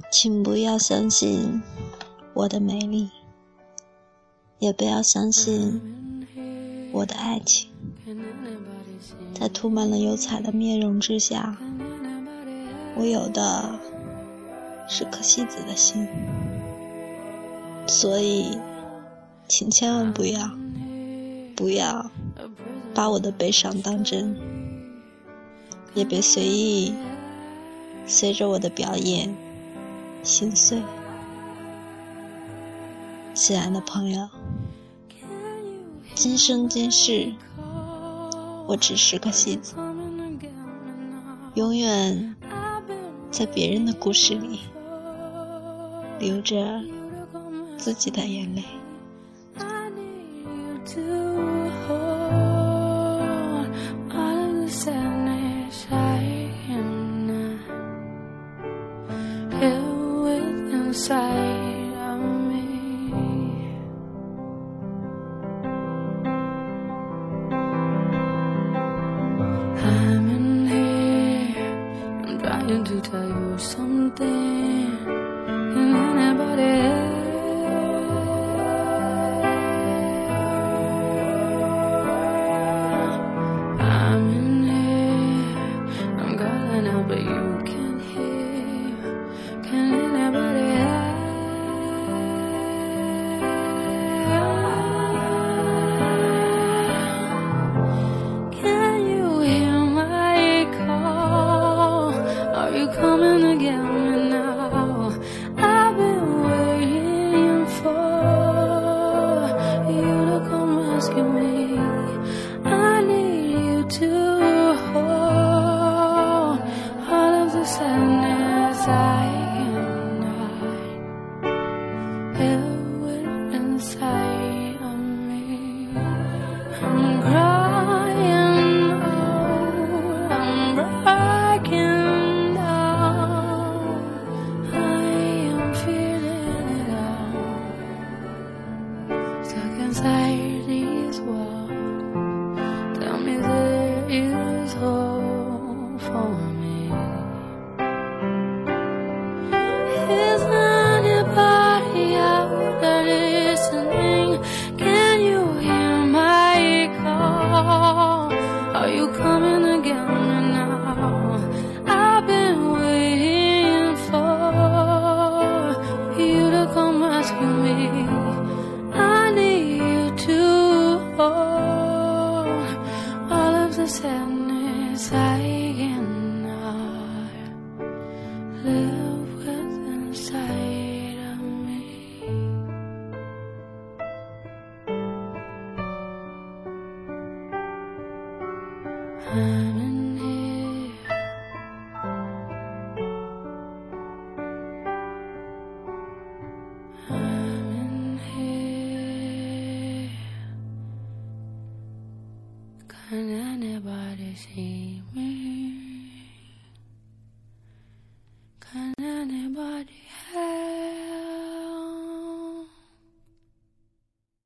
请不要相信我的美丽，也不要相信我的爱情。在涂满了油彩的面容之下，我有的是颗戏子的心。所以请千万不要把我的悲伤当真，也别随意随着我的表演心碎。亲爱的朋友，今生今世我只是个戏子，永远在别人的故事里流着自己的眼泪。 To tell you something, and anybody else. I'm in here, I'm calling out, but you can't hear. Can anybody else? Can you hear my call? Are you coming to get me now? I've been waiting for you to come rescue me. I need you to hold all of the sadness I cannot live with inside of me. I'm crying out, I'm breaking down. I am feeling it all, stuck inside these walls. Tell me there is hope for me. Is anybody out there listening? Can you hear my call? Are you coming to get me now? I've been waiting for you to come rescue me. I need you to hold all of the sadness I cannot live with inside of me. I'm in here, I'm in here. Can anybody see me? Can anybody help?